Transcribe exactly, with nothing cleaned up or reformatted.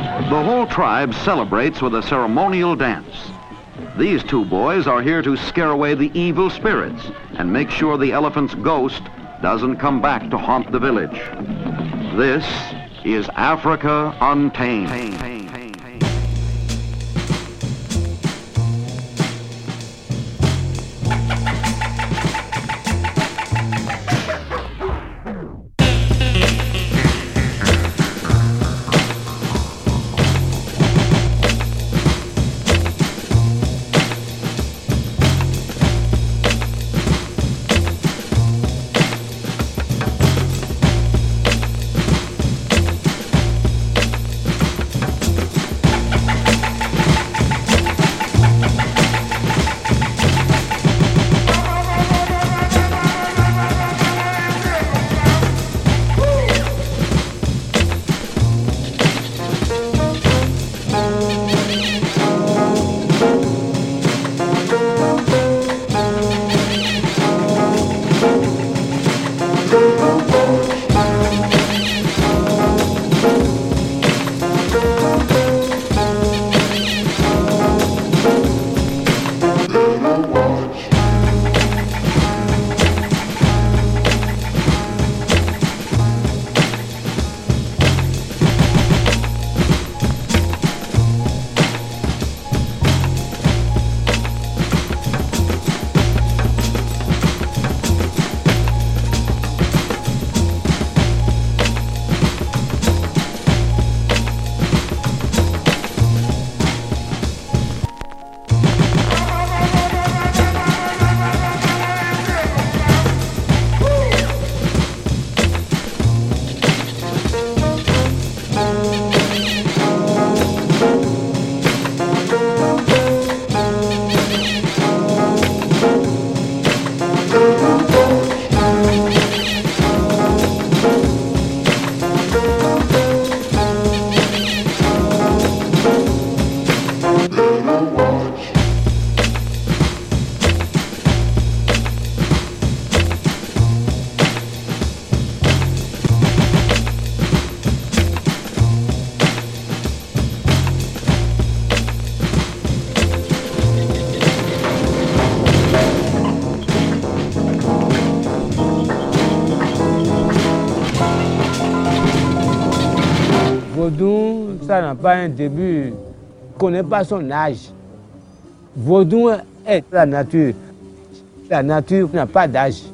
The whole tribe celebrates with a ceremonial dance. These two boys are here to scare away the evil spirits and make sure the elephant's ghost doesn't come back to haunt the village. This is Africa Untamed. Vaudou, ça n'a pas un début, ne connaît pas son âge. Vaudou est la nature. La nature n'a pas d'âge.